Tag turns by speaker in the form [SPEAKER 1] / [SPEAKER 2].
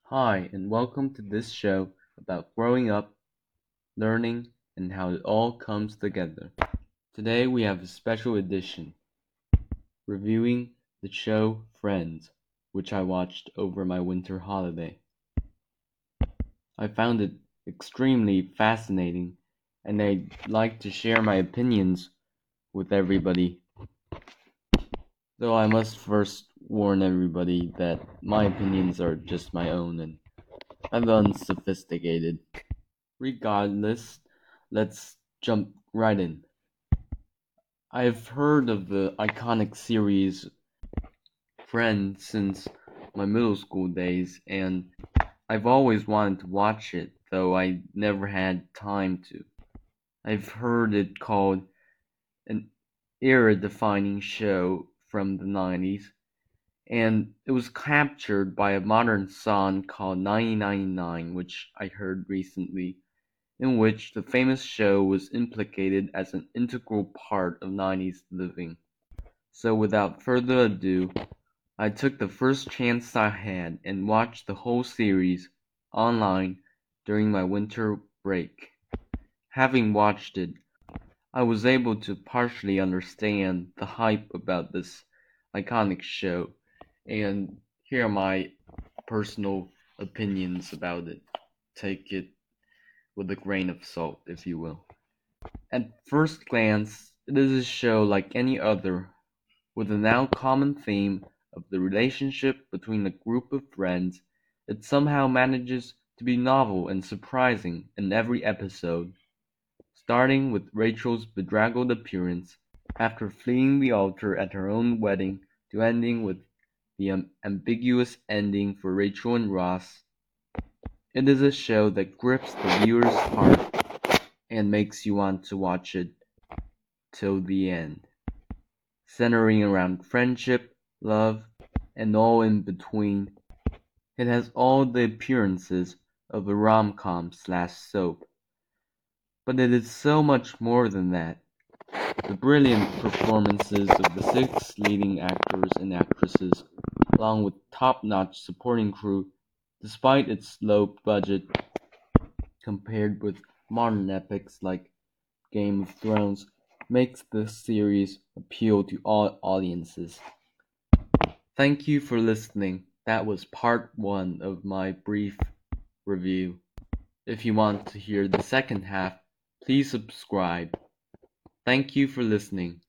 [SPEAKER 1] Hi, and welcome to this show about growing up, learning, and how it all comes together. Today we have a special edition reviewing the show Friends, which I watched over my winter holiday. I found it extremely fascinating, and I'd like to share my opinions with everybody. Though I must first warn everybody that my opinions are just my own and unsophisticated. Regardless, let's jump right in. I've heard of the iconic series Friends since my middle school days, and I've always wanted to watch it, though I never had time to. I've heard it called an era-defining show from the 90s, and it was captured by a modern song called 1999, which I heard recently, in which the famous show was implicated as an integral part of nineties living. So without further ado, I took the first chance I had and watched the whole series online during my winter break. Having watched it, I was able to partially understand the hype about this iconic show, and here are my personal opinions about it. Take it with a grain of salt, if you will. At first glance, it is a show like any other, with the now common theme of the relationship between a group of friends. It somehow manages to be novel and surprising in every episode, starting with Rachel's bedraggled appearance after fleeing the altar at her own wedding to ending with the ambiguous ending for Rachel and Ross. It is a show that grips the viewer's heart and makes you want to watch it till the end, centering around friendship, love, and all in between. It has all the appearances of a rom-com/soap, but it is so much more than that. The brilliant performances of the six leading actors and actresses, along with top-notch supporting crew, despite its low budget compared with modern epics like Game of Thrones, makes this series appeal to all audiences. Thank you for listening. That was part one of my brief review. If you want to hear the second half, please subscribe. Thank you for listening.